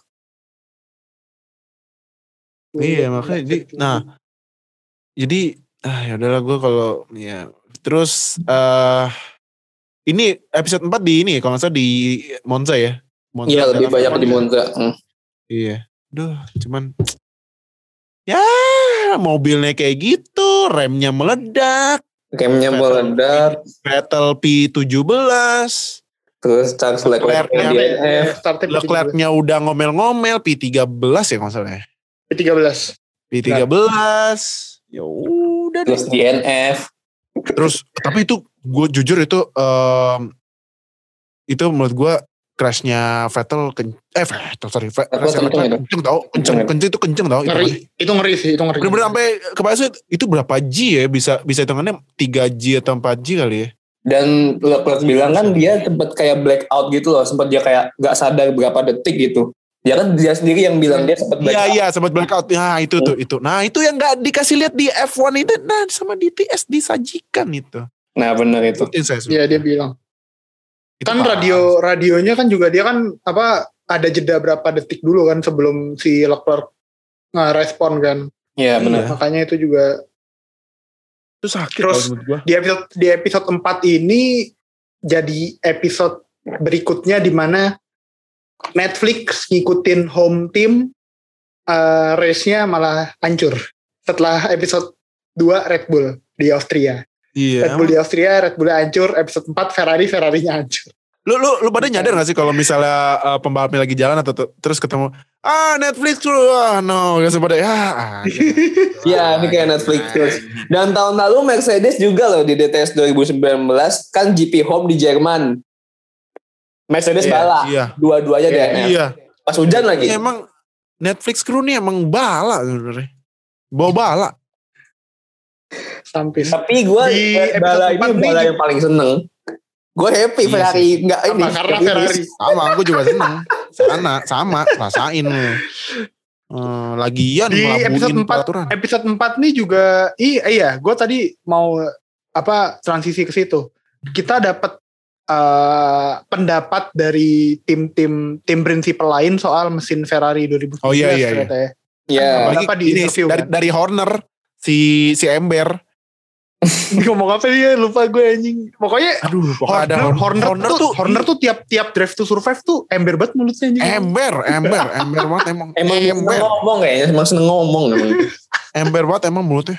Iya makanya jadi, nah jadi ah ya udahlah gue kalau ya terus uh, ini episode empat di ini kalau nggak salah di Monza ya. Monza iya lebih banyak di Monza. Hmm. Iya. Duh cuman ya mobilnya kayak gitu, remnya meledak. Remnya meledak. Vettel P tujuh belas. Terus Charles Leclerc-nya D N F. Leclerc-nya udah ngomel-ngomel P tiga belas ya kalau nggak salah ya. P tiga belas. P tiga belas. Ya udah. Terus D N F. Terus tapi itu gue jujur itu um, itu menurut gue crashnya Vettel ken, eh Vettel sorry Vettel kenceng tau kenceng kenceng itu kenceng tau ngeri itu, itu ngeri sih itu ngeri bener-bener sampai kebayang itu berapa G ya bisa bisa hitungannya tiga G atau empat G kali ya. Dan Leclerc bilang kan dia sempat kayak blackout gitu loh, sempat dia kayak gak sadar berapa detik gitu. Ya kan dia sendiri yang bilang dia sempat blackout. Iya iya sempat blackout. Nah itu tuh itu. Nah itu yang nggak dikasih lihat di F satu itu. Nah sama di T S disajikan itu. Nah benar itu. Iya dia bilang. Itu kan radio radionya kan juga dia kan apa ada jeda berapa detik dulu kan sebelum si Leclerc nge-respon kan. Iya benar. Makanya itu juga. Itu sakit. Terus di episode di episode empat ini jadi episode berikutnya di mana Netflix ngikutin home team, uh, race-nya malah hancur setelah episode dua Red Bull di Austria. Iya. Red Bull di Austria, Red Bull hancur. Episode empat Ferrari, Ferrarinya hancur. Lu lu lu pada nyadar gak sih kalau misalnya uh, pembalapnya lagi jalan atau t- terus ketemu ah Netflix lu ah no gak pada ya. Ah, Iya, ini kayak Netflix terus. Dan tahun lalu Mercedes juga loh di D T S dua ribu sembilan belas kan G P Home di Jerman. Mercedes Iya, bala, iya. dua-duanya D N F. Iya. Pas hujan lagi. Iya, emang Netflix crew nih emang bala sebenarnya. Bawa bala. Sampai Tapi gue Di episode bala ini empat nih bala juga- yang paling seneng. Gue happy Iya Ferrari nggak ini. Apa? Karena nggak Ferrari. finish. Sama, aku juga seneng. Sana, sama, rasain lu. Hmm, lagian di episode ngelabuin empat peraturan. episode empat nih juga iya iya gue tadi mau apa transisi ke situ kita dapat uh, pendapat dari tim-tim tim prinsipal lain soal mesin Ferrari dua ribu sembilan belas Oh, iya, iya, iya. ternyata ya. Iya. Apalagi Apalagi di ini interview, dari, kan? dari Horner si si Ember. Ngomong apa dia lupa gue anjing pokoknya Aduh, pokoknya ada Horner, Horner, Horner, tuh, Horner tuh tiap tiap drive to survive tuh ember banget mulutnya anjing. Ember, ember, ember banget emang. Emang seneng ember, ngomong kayaknya, emang seneng ngomong emang. ember banget emang mulutnya.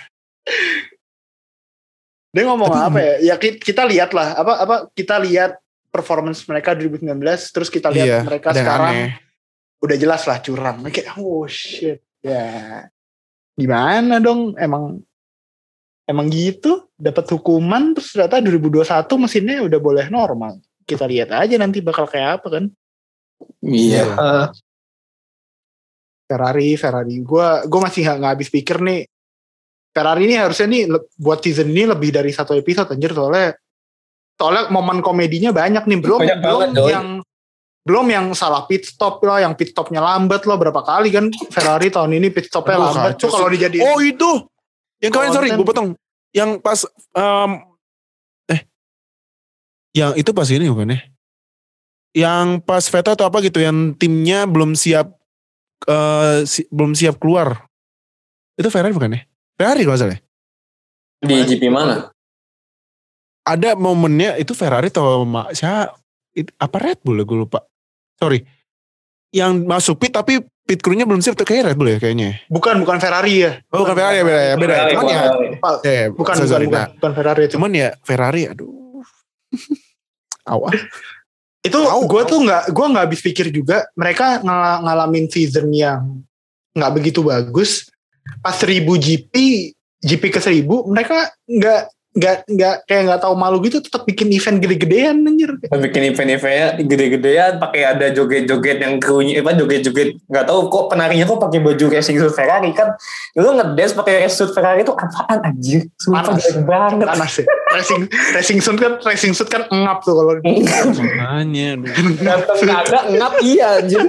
Dia ngomong Tapi- apa ya? Ya ki- kita lihat lah apa apa kita lihat performance mereka dua ribu sembilan belas terus kita lihat Iya, mereka ada yang sekarang aneh. udah jelas lah curang. Kayak oh shit. Ya. Gimana dong emang emang gitu dapat hukuman terus ternyata dua ribu dua puluh satu mesinnya udah boleh normal. Kita lihat aja nanti bakal kayak apa kan. Iya. Eh, Ferrari, Ferrari. Gua gua masih nggak nggak habis pikir nih. Ferrari ini harusnya nih le- buat season ini lebih dari satu episode anjir soalnya soalnya momen komedinya banyak nih belum Banyak belum banget, Doi. yang belum yang salah pit stop lah, yang pit stopnya lambat loh berapa kali kan Ferrari tahun ini pit stopnya Aduh, lambat kacau tuh kalau sih. dijadiin Oh itu, yang kemarin sorry Konten. gue potong. Yang pas, em, eh, yang itu pas ini bukan ya? Yang pas Vettel atau apa gitu, yang timnya belum siap, eh, si- belum siap keluar. Itu Ferrari bukan ya? Ferrari kalau nggak salah ya? Di G P mana? Ada momennya itu Ferrari atau ma- siapa? It- apa Red Bull ya gue lupa. Sorry. Yang masuk pit tapi pit crew-nya belum siap tuh kayak Red Bull ya kayaknya. bukan bukan Ferrari ya Oh bukan Ferrari ya beda ya. Beda. Ferrari, Cuman ya, Ferrari. Pak, eh, bukan sorry, bukan sorry. bukan, Nah, bukan Ferrari itu cuman ya Ferrari aduh. Awal. itu Tahu, gue tahu. tuh nggak gue nggak habis pikir juga mereka ngala- ngalamin season yang nggak begitu bagus pas seribu G P G P ke seribu mereka nggak nggak nggak kayak nggak tahu malu gitu tetap bikin event gede-gedean anjir. Bikin event-eventnya gede-gedean, pakai ada joget-joget yang krunya, apa joget-joget nggak tahu kok penarinya kok pakai baju racing suit Ferrari kan, lu ngedance pakai racing suit Ferrari itu apaan anjir? Sumpah Panas. jelek banget. Panas ya. Racing racing suit kan racing suit kan ngap tuh kalau Makanya. Ganteng kagak ngap iya anjir.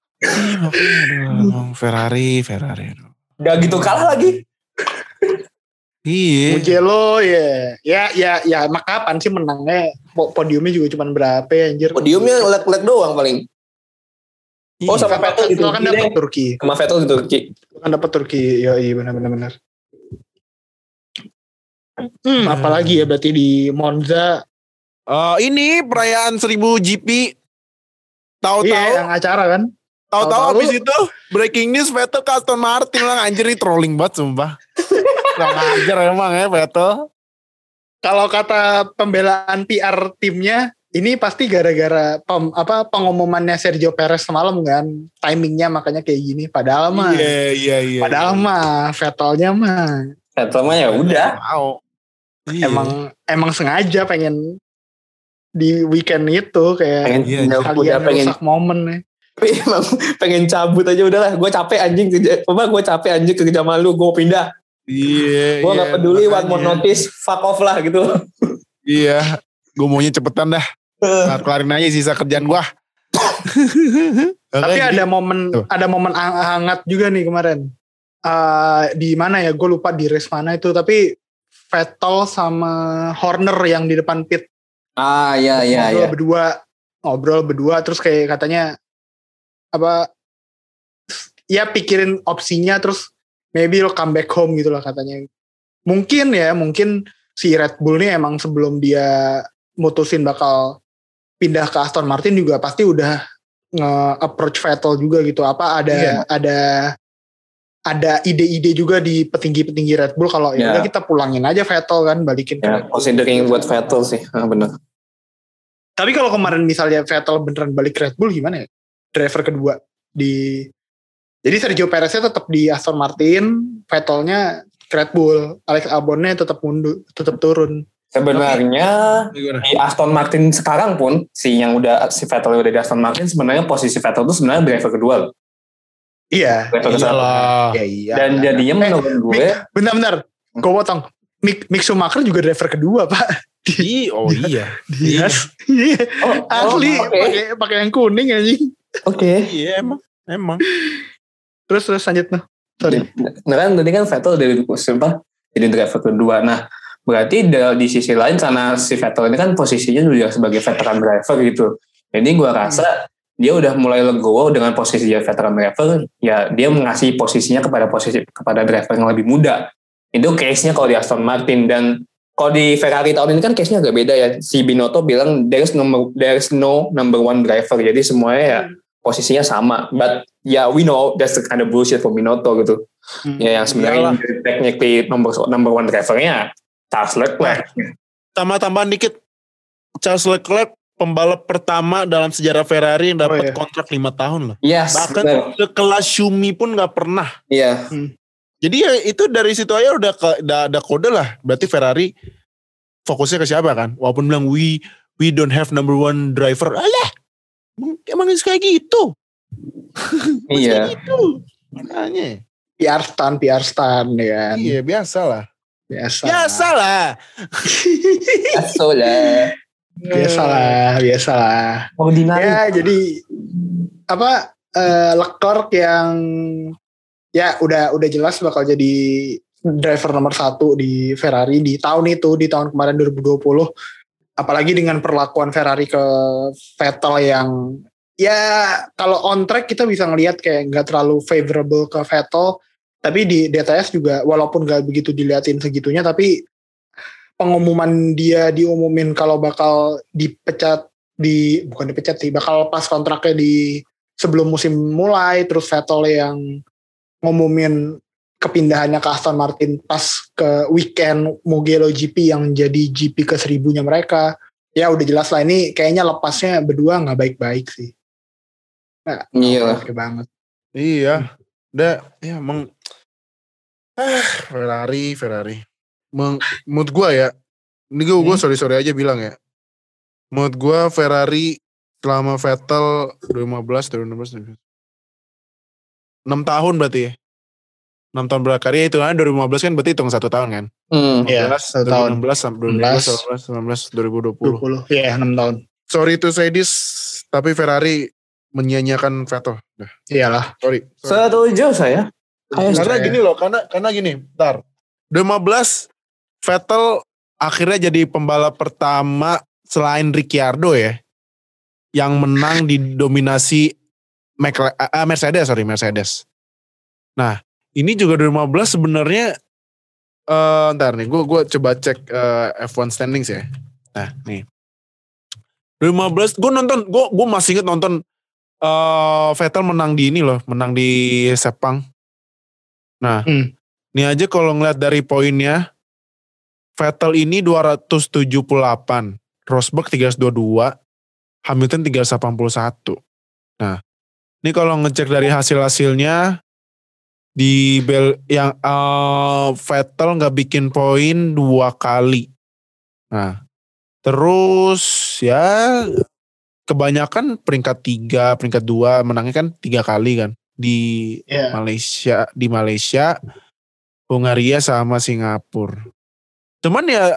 Aduh, Ferrari, Ferrari. Aduh. Gak gitu kalah lagi. Iya. Mugello ya. Ya ya ya mak kapan sih menangnya? Po- Podiumnya juga cuma berapa ya anjir. Podiumnya leg-leg doang paling. Oh Iya. sama Vettel gitu. Vettel kan dapat Turki. Sama Vettel di Turki. Kan dapat Turki. Ya iya benar benar benar. Hmm, apalagi ya berarti di Monza. Eh, ini perayaan seribu G P. Tahu-tahu, Iya, yang acara kan. tahu-tahu tahu-tahu- habis itu breaking news Vettel ke Aston Martin lah anjir ini trolling banget sumpah. Kurang ajar emang ya Vettel. Kalau kata pembelaan P R timnya, ini pasti gara-gara pem, apa pengumumannya Sergio Perez semalam kan, timingnya makanya kayak gini. Padahal mah, Iya, iya, iya. padahal mah Vettelnya mah Vettel mah ya udah. Mau. Iya. emang emang sengaja pengen di weekend itu kayak Pengen Iya, udah, kalian udah pengen rusak momen nih. tapi emang pengen cabut aja udahlah. Gue capek anjing kerja. Apa gue capek anjing kerja sama lu. Gue pindah. Iya. Gue iya, gak peduli one more makanya. notice. Fuck off lah gitu. Iya. Gue maunya cepetan dah. Nah, kelarin aja sisa kerjaan gue. Tapi ada momen Tuh. ada momen hang- hangat juga nih kemarin. Eh di mana ya? Gue lupa di race mana itu. Tapi Vettel sama Horner yang di depan pit Ah iya iya ngobrol iya. berdua, ngobrol berdua terus kayak katanya apa? Ya pikirin opsinya terus maybe lo come back home gitu lah katanya. Mungkin ya, mungkin si Red Bull nih emang sebelum dia mutusin bakal pindah ke Aston Martin juga pasti udah nge-approach Vettel juga gitu. Apa ada Iya. ada ada ide-ide juga di petinggi-petinggi Red Bull kalau ya udah Ya. kita pulangin aja Vettel kan, balikin ke Ya, Red Bull. considering buat Vettel sih, ah, bener. Tapi kalau kemarin misalnya Vettel beneran balik ke Red Bull gimana ya? Driver kedua di jadi Sergio Pereznya tetap di Aston Martin, Vettelnya ke Red Bull, Alex Albonnya tetap mundur, tetap turun. Sebenarnya Gimana? di Aston Martin sekarang pun si yang udah si Vettel udah di Aston Martin, sebenarnya posisi Vettel itu sebenarnya driver kedua loh. Iya. Driver kedua. Iyalah. Ya iya. Dan jadinya Eh, menurut gue Mick- Benar-benar. Gue potong. Mick, Mick Schumacher juga driver kedua, Pak. Ih, oh iya. Yes. Iya. Oh, Asli oh, oke. pakai pakai yang kuning anjing. Oke. Iya emang. Emang. Terus terus lanjut noh. Sorry. Nah kan tadi kan Vettel dari apa jadi driver kedua. Nah berarti da- di sisi lain sana si Vettel ini kan posisinya juga sebagai veteran driver gitu. Jadi gue rasa dia udah mulai legowo dengan posisi dia veteran driver. Ya dia mengasih posisinya kepada posisi kepada driver yang lebih muda. Itu case-nya kalau di Aston Martin. Dan kalau di Ferrari tahun ini kan case-nya agak beda ya. Si Binotto bilang there's no there's no number one driver. Jadi semuanya ya posisinya sama. But ya yeah, we know that's the kind of bullshit for Binotto gitu. Hmm. Ya yang sebenarnya technically number number one drivernya Charles Leclerc. Tambah-tambahan dikit. Charles Leclerc pembalap pertama dalam sejarah Ferrari yang dapat Oh, iya. kontrak lima tahun loh. Yes, Bahkan benar. sekelas Schumi pun nggak pernah. Iya. Jadi ya itu dari situ aja udah ke, udah ada kode lah. Berarti Ferrari fokusnya ke siapa kan? Walaupun bilang we we don't have number one driver. Alah, emang kayak gitu. Iya. Kayak gitu. Makanya. P R stand, P R stand ya kan. Iya biasa lah. Biasa. Biasa lah. Aso lah. Biasa lah, biasa lah. Ordinary. Ya jadi apa eh, Leclerc yang ya udah udah jelas bakal jadi driver nomor satu di Ferrari di tahun itu, di tahun kemarin dua ribu dua puluh. Apalagi dengan perlakuan Ferrari ke Vettel yang ya kalau on track kita bisa ngelihat kayak nggak terlalu favorable ke Vettel, tapi di D T S juga walaupun nggak begitu diliatin segitunya, tapi pengumuman dia diumumin kalau bakal dipecat di bukan dipecat sih, bakal pas kontraknya di sebelum musim mulai, terus Vettel yang ngumumin kepindahannya ke Aston Martin pas ke weekend Mugello G P yang jadi G P ke seribunya mereka. Ya udah jelas lah ini kayaknya lepasnya berdua nggak baik-baik sih. Nah, Iya. oke banget. Iya. Udah ya emang ah, Ferrari, Ferrari. Meng, menurut gue ya, ini gue gue sorry sorry aja bilang ya. Menurut gue Ferrari selama Vettel dua ribu lima belas, dua ribu enam belas, enam tahun berarti ya. enam tahun berkarya itu kan dua ribu lima belas kan berarti hitung satu tahun kan. Hmm. Iya, satu tahun. dua ribu enam belas sampai dua ribu sembilan belas, sembilan belas, dua ribu dua puluh. dua puluh. Iya, enam tahun. Sorry to say this, tapi Ferrari menyia-nyiakan Vettel. Nah, Iyalah. sorry. sorry. Setuju saya. Kayak Karena saya. gini loh, karena karena gini, bentar. dua ribu lima belas Vettel akhirnya jadi pembalap pertama selain Ricciardo ya yang menang di dominasi Mcla- uh, Mercedes, sorry Mercedes. Nah, ini juga dua ribu lima belas sebenarnya eh ntar nih, gue gue coba cek eh, F satu standings ya. Nah, nih. dua ribu lima belas gue nonton, gue gue masih inget nonton eh Vettel menang di ini loh, menang di Sepang. Nah, Hmm. ini aja kalau ngeliat dari poinnya, Vettel ini dua ratus tujuh puluh delapan, Rosberg tiga ratus dua puluh dua, Hamilton tiga ratus delapan puluh satu. Nah, ini kalau ngecek dari hasil-hasilnya, di Bel yang uh, Vettel nggak bikin poin dua kali. Nah, terus ya kebanyakan peringkat tiga, peringkat dua, menangnya kan tiga kali kan di Iya. Malaysia, di Malaysia, Hungaria sama Singapura. Cuman ya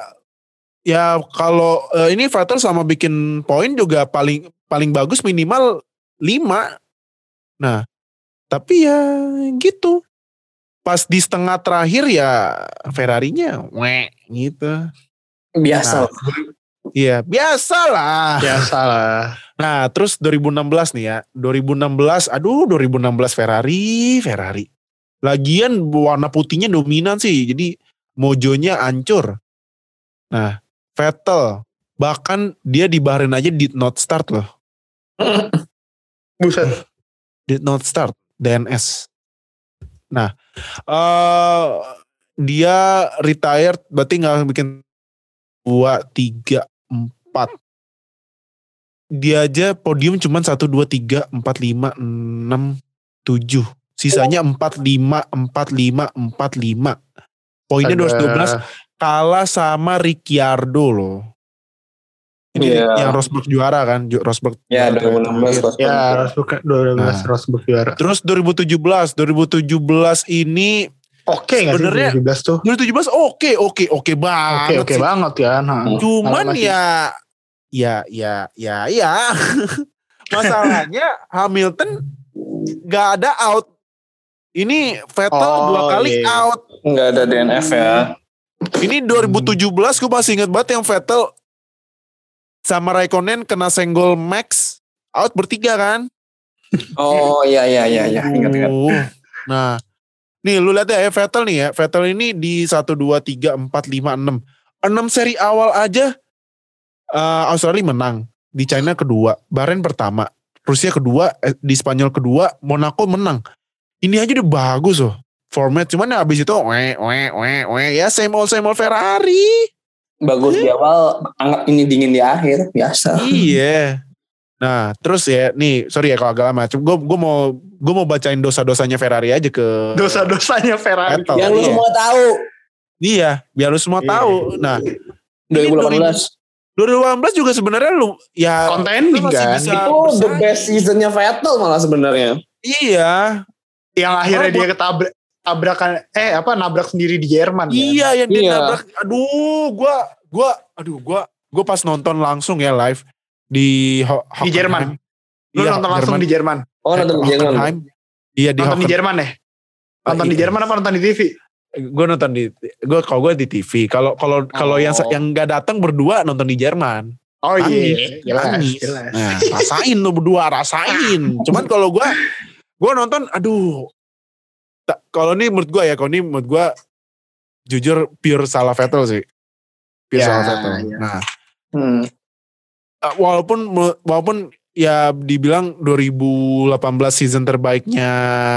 ya kalau uh, ini Vettel sama bikin poin juga paling paling bagus minimal lima. Nah, tapi ya gitu. Pas di setengah terakhir ya Ferrarinya weh gitu. biasa. Nah, iya, biasalah. Biasalah. Nah, terus dua ribu enam belas nih ya. dua ribu enam belas, aduh dua ribu enam belas Ferrari, Ferrari. Lagian warna putihnya dominan sih. Jadi mojonya hancur. Nah, Vettel bahkan dia di Bahrain aja did not start loh. Buset. Did not start D N S. Nah, uh, dia retired berarti nggak bikin dua, tiga, empat. Dia aja podium cuma satu, dua, tiga, empat, lima, enam, tujuh. Sisanya empat, lima, empat, lima, empat, lima. Poinnya dua ratus dua belas. Kalah sama Ricciardo loh. Ini yeah. Yang Rosberg juara kan, Rosberg. Ya, dua ribu enam belas Rosberg. Ya, Rosberg dua ribu enam belas nah. Rosberg juara. Terus dua ribu tujuh belas, dua ribu tujuh belas ini oke okay, enggak sih dua ribu tujuh belas tuh? dua ribu tujuh belas oke, oke, oke banget. Oke, oke banget ya. Nah, cuman ya ya ya ya ya. Masalahnya Hamilton enggak ada out. Ini Vettel oh, dua kali yeah. out. Enggak ada D N F ya. Ini dua ribu tujuh belas gue masih ingat banget yang Vettel sama Raikkonen kena senggol Max out bertiga kan? Oh iya iya iya iya ingat-ingat. Nah, nih lu lihat ya Vettel nih ya. Vettel ini di satu dua tiga empat lima enam. enam seri awal aja uh, Australia menang, di China kedua, Bahrain pertama, Rusia kedua, di Spanyol kedua, Monaco menang. Ini aja udah bagus loh format, cuman ya abis itu we we we we ya same old same old Ferrari. Bagus di awal, anggap ini dingin di akhir, biasa. Iya. Nah, terus ya, nih, sorry ya kalau agak lama. Gue gue mau gue mau bacain dosa-dosanya Ferrari aja ke. Dosa-dosanya Ferrari. Yang lu semua tahu. Iya, biar lu semua iya. tahu. Nah, dua ribu delapan belas dua ribu delapan belas juga sebenarnya lu ya contending kan. Itu bersaing. The best seasonnya Vettel malah sebenarnya. Iya. Yang akhirnya oh, dia ketabrak. Tabrakan eh apa nabrak sendiri di Jerman iya kan? yang dia iya. nabrak aduh gua gua aduh gua gua pas nonton langsung ya live di Ho- di Jerman lu iya, nonton langsung Jerman. Di Jerman oh nonton di Jerman iya di nonton Hocken. Di Jerman ya nonton uh, di Jerman apa nonton di T V gue nonton di gue kalau gue di T V kalau kalau kalau oh. yang yang nggak datang berdua nonton di Jerman oh iya jelas, jelas. Nah, rasain lo berdua rasain cuman kalau gue gue nonton aduh kalau ini menurut gue ya, kalau ini menurut gue jujur pure salah Vettel sih, pure ya, salah Vettel. Ya. Nah, hmm. walaupun walaupun ya dibilang dua ribu delapan belas season terbaiknya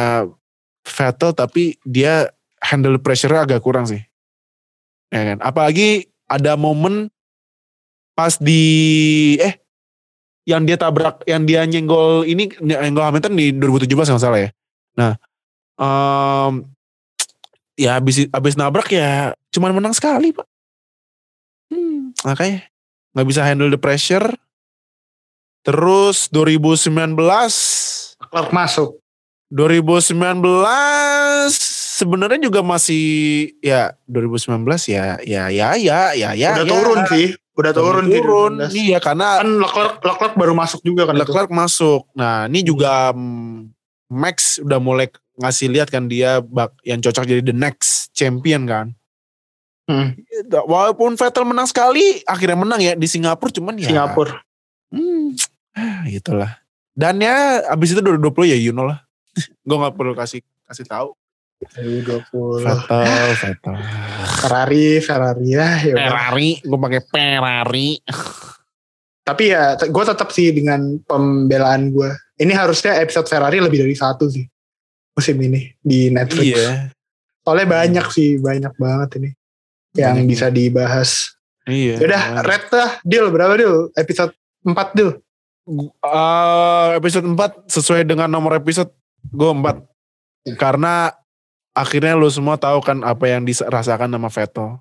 Vettel, tapi dia handle pressure-nya agak kurang sih, ya kan? Apalagi ada momen pas di eh yang dia tabrak, yang dia nyenggol ini nyenggol Hamilton di dua ribu tujuh belas nggak salah ya. Nah. Um, ya abis, abis nabrak ya cuman menang sekali pak hmm, makanya gak bisa handle the pressure. Terus dua ribu sembilan belas Leclerc masuk dua ribu sembilan belas sebenarnya juga masih ya dua ribu sembilan belas ya ya ya ya ya ya udah ya. turun sih udah turun turun iya karena kan Leclerc Leclerc baru masuk juga kan Leclerc masuk. Nah ini juga hmm, Max udah mulai ngasih lihat kan dia bak, yang cocok jadi the next champion kan. Hmm. Walaupun Vettel menang sekali, akhirnya menang ya di Singapura cuman ya. Singapura. Hmm, itulah. Dan ya abis itu dua ribu dua puluh ya you know lah. Gue nggak perlu kasih kasih tahu. dua ribu dua puluh Vettel, Vettel. Ferrari, Ferrari ya. Ferrari, gue pakai Ferrari. Tapi ya, gue tetap sih dengan pembelaan gue. Ini harusnya episode Ferrari lebih dari satu sih musim ini di Netflix. Iya. Soalnya banyak hmm. sih, banyak banget ini yang banyak bisa dibahas. Iya. Yaudah, red lah, deal berapa deal? Episode empat deal. Uh, episode empat sesuai dengan nomor episode gue empat. Karena akhirnya lu semua tahu kan apa yang dirasakan sama Vettel.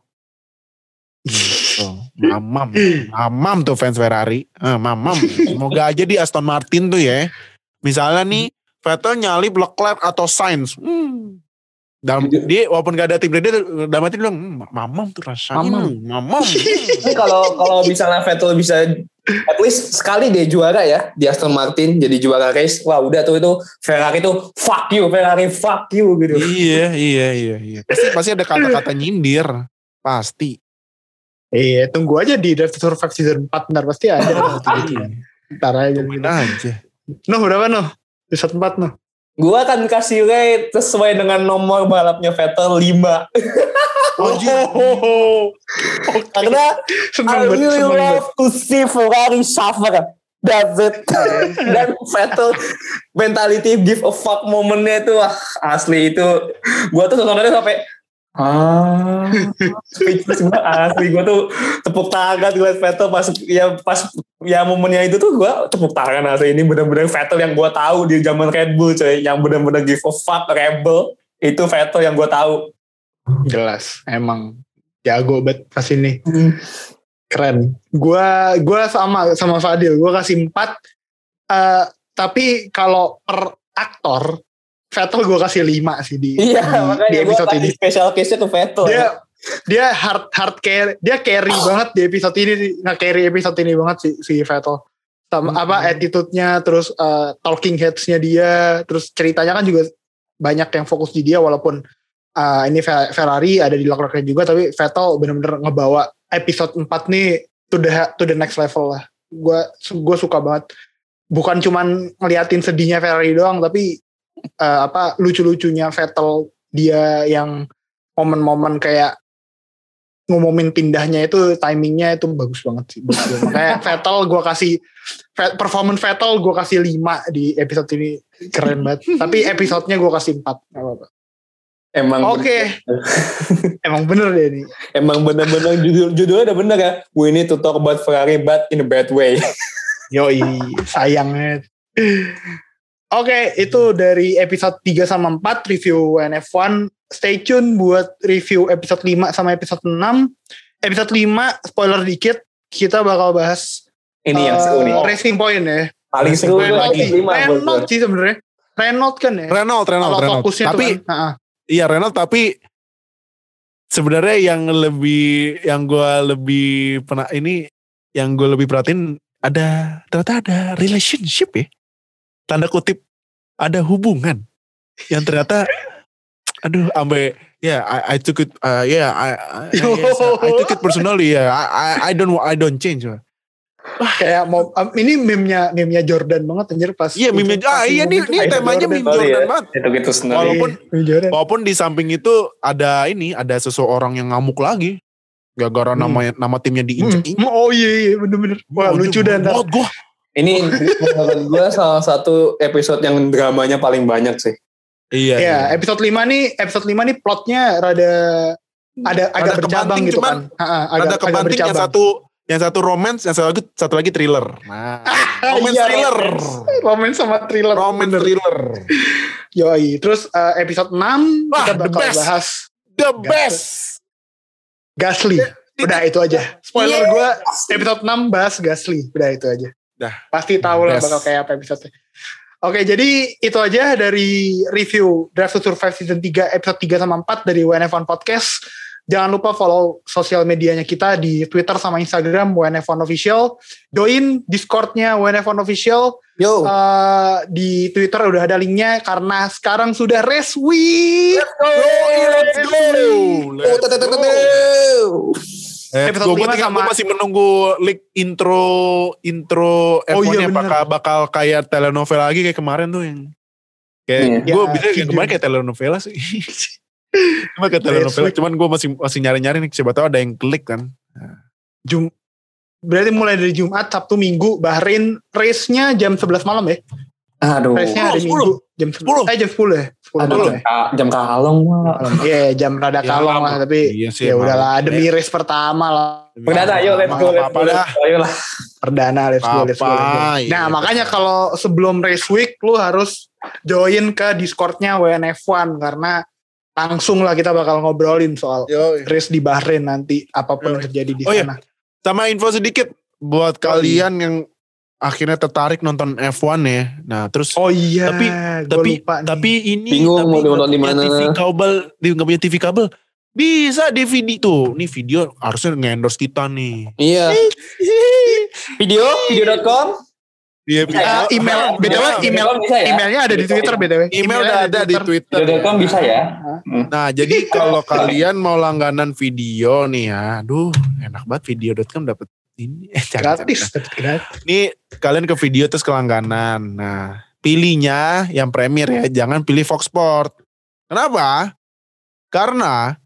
Gitu. Mamam, mamam tuh fans Ferrari. Ah, mamam. Semoga aja di Aston Martin tuh ya. Misalnya nih Vettel nyalip Leclerc atau Sainz. Hmm. Dalam dia walaupun gak ada tim dia dalam hati bilang mmm, mamam tuh rasanya. Mamam. Mamam. Ini kalau kalau misalnya Vettel bisa at least sekali dia juara ya di Aston Martin jadi juara race. Wah, udah tuh itu Ferrari tuh fuck you, Ferrari fuck you gitu. Iya, iya, iya, iya. Pasti pasti ada kata-kata nyindir. Pasti. Iya, tunggu aja di Drive to Survive season empat ntar pasti ada. Ntar aja. Tungguin aja. Nuh, berapa Nuh? Episode empat Nuh. Gue akan kasih rate sesuai dengan nomor balapnya Vettel lima. Oh, oh, okay. Karena I really love to see Ferrari suffer. That's it. Dan Vettel mentality give a fuck momennya itu wah asli itu. Gua tuh nontonnya sampai ah speechless gue asli. Gue tuh tepuk tangan gue Vettel pas ya pas ya momennya itu tuh gue tepuk tangan asli. Ini benar-benar Vettel yang gue tahu di zaman Red Bull coy, yang benar-benar give a fuck rebel itu Vettel yang gue tahu. Jelas emang jago banget pas ini. Keren. Gua gua sama sama Fadil, gua kasih empat. Uh, tapi kalau per aktor Vettel gue kasih lima sih di, iya, di, di episode ini. Special case-nya tuh Vettel. Dia dia hard hard carry, dia carry oh. banget di episode ini, nge-carry episode ini banget sih si Vettel. Sama hmm. apa attitude-nya, terus uh, talking heads-nya dia, terus ceritanya kan juga banyak yang fokus di dia walaupun uh, ini Ferrari ada di belakangnya juga, tapi Vettel benar-benar ngebawa episode empat nih to the to the next level lah. Gue gue suka banget. Bukan cuman ngeliatin sedihnya Ferrari doang, tapi Uh, apa lucu-lucunya Vettel dia yang momen-momen kayak ngumumin pindahnya itu timingnya itu bagus banget sih. Kayak Vettel gue kasih performance Vettel gue kasih lima di episode ini, keren banget. Tapi episodenya gue kasih empat. Apa-apa. Emang oke okay. Emang bener deh ini. Emang bener-bener judul judulnya udah bener ya. We need to talk about Ferrari but in a bad way. Yoi sayangnya. Oke, okay, itu dari episode tiga sama empat review W N F satu. Stay tune buat review episode lima sama episode enam. Episode lima, spoiler dikit, kita bakal bahas ini uh, yang seru nih. Racing Point ya. Paling seru lagi. Renault sih sebenarnya. Renault kan ya. Renault, Renault, Renault. Fokusnya tapi, kan, uh-uh. Iya Renault, tapi sebenarnya yang lebih, yang gue lebih pernah ini, yang gue lebih perhatiin ada ternyata ada relationship ya. Tanda kutip ada hubungan yang ternyata aduh ambe ya yeah, I, I took it uh, ya yeah, I, I, yes, I took it personally ya yeah. I, I I don't I don't change. Wah kayak mau um, ini meme-nya meme-nya Jordan banget anjir pas. Iya meme-nya ah iya ini ini temanya meme Jordan ya. banget. Itu gitu sendiri. Walaupun walaupun di samping itu ada ini ada seseorang yang ngamuk lagi gara-gara hmm. nama nama timnya diinjek. Hmm. Oh iya iya bener-bener. Wah oh, lucu dan banget gua. Ini menurut gue salah satu episode yang dramanya paling banyak sih. Iya. Ya, iya. episode lima nih, episode lima nih plotnya rada ada agak bercabang gitu cuman, kan. Ha, agak, ada kebanting yang satu yang satu romance, yang satu lagi satu lagi thriller. Nah, romance iya, thriller. Romance sama thriller. Romance thriller. Yoi, terus uh, episode enam Wah, kita bakal the best. bahas The best. Gasly. Udah itu aja. Spoiler yeah. gue episode enam bahas Gasly. Udah itu aja. Dah. Pasti tahu lah bakal kayak apa episode-nya. Oke, jadi itu aja dari review Drive to Survive Season tiga, episode tiga sama empat dari W N F satu Podcast. Jangan lupa follow sosial medianya kita di Twitter sama Instagram W N F satu Official. Join Discord-nya W N F satu Official. Yo. Uh, di Twitter udah ada linknya karena sekarang sudah race week. Let's go! Let's go! Let's go! Eh, gue sama... masih menunggu leak intro intro F satu-nya oh, iya, bakal, bakal kayak telenovela lagi kayak kemarin tuh yang kayak yeah. gue ya, bisa kayak kemarin kayak telenovela sih. Cuma kayak telenovela, cuman gue masih masih nyari-nyari nih siapa tahu ada yang klik kan. Jum berarti mulai dari Jumat, Sabtu, Minggu, Bahrain race-nya jam sebelas malam ya. Aduh. Race-nya hari Minggu jam sepuluh. Eh jam sepuluh ya. Aduh, jam, ya. jam kalong mah. Iya, yeah, jam rada ya, kalong lah tapi iya sih, ya udahlah demi race pertama lah. Perdana ayo let's go let's go. Ayolah. Perdana let's go let's go. Nah, iya, makanya kalau sebelum race week lu harus join ke Discord-nya W N F satu karena langsung lah kita bakal ngobrolin soal Yo, iya. race di Bahrain nanti apapun Yo, yang terjadi di oh, sana. Iya. Sama info sedikit buat kalian yang akhirnya tertarik nonton F satu ya. Nah, terus oh iya, tapi tapi tapi ini bingung tapi mau nonton di mana? T V kabel, dia enggak punya T V kabel. Bisa D V D tuh. Nih video harusnya nge-endorse kita nih. Iya. Video video dot com. Iya, uh, email B T W email ya? Emailnya ada di Twitter B T W. Email udah ada di Twitter. video dot com bisa ya. Nah, jadi kalau kalian mau langganan video nih ya, aduh, enak banget video dot com dapat ini eh, gratis, gratis. Nih kalian ke video terus ke langganan. Nah, pilihnya yang premier ya, jangan pilih Fox Sport. Kenapa? Karena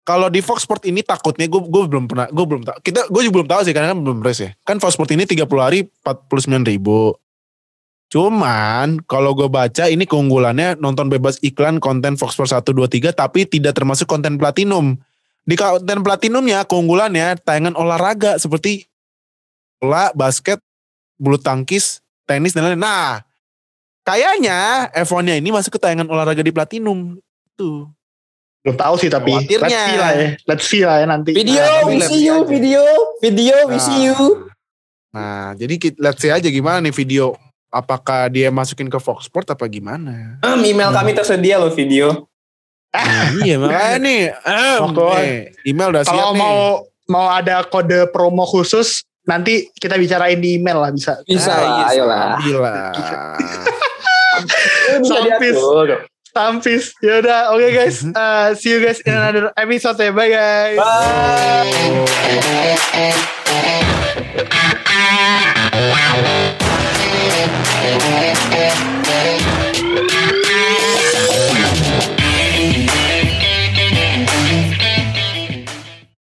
kalau di Fox Sport ini takutnya gue gue belum pernah gue belum tahu kita gue juga belum tahu sih karena kan belum race ya kan Fox Sport ini tiga puluh hari empat puluh sembilan ribu. Cuman kalau gue baca ini keunggulannya nonton bebas iklan konten Fox Sport satu dua tiga tapi tidak termasuk konten platinum. Di konten platinumnya keunggulannya tayangan olahraga seperti bola, basket, bulu tangkis, tenis dan lain-lain. Nah, kayaknya F satu-nya ini masuk ke tayangan olahraga di platinum. Tuh. Belum tahu sih tapi Khawatirnya. let's see lah ya. Let's see lah ya nanti. Video, Nah, we let's see see you, aja. video, video, we Nah. see you. Nah, jadi kita- let's see aja gimana nih video. Apakah dia masukin ke Fox Sport apa gimana? Um, email kami tersedia loh video. Nah, iya makanya nih. Um, Oke. nih, email udah siap Kalau nih. mau mau ada kode promo khusus nanti kita bicarain di email lah bisa. Bisa Ah, lah, iya, ayolah. Gila. Bisa Sampis. diatur. Tampis. Ya udah, oke guys. Uh, see you guys in another episode. Bye guys. Bye.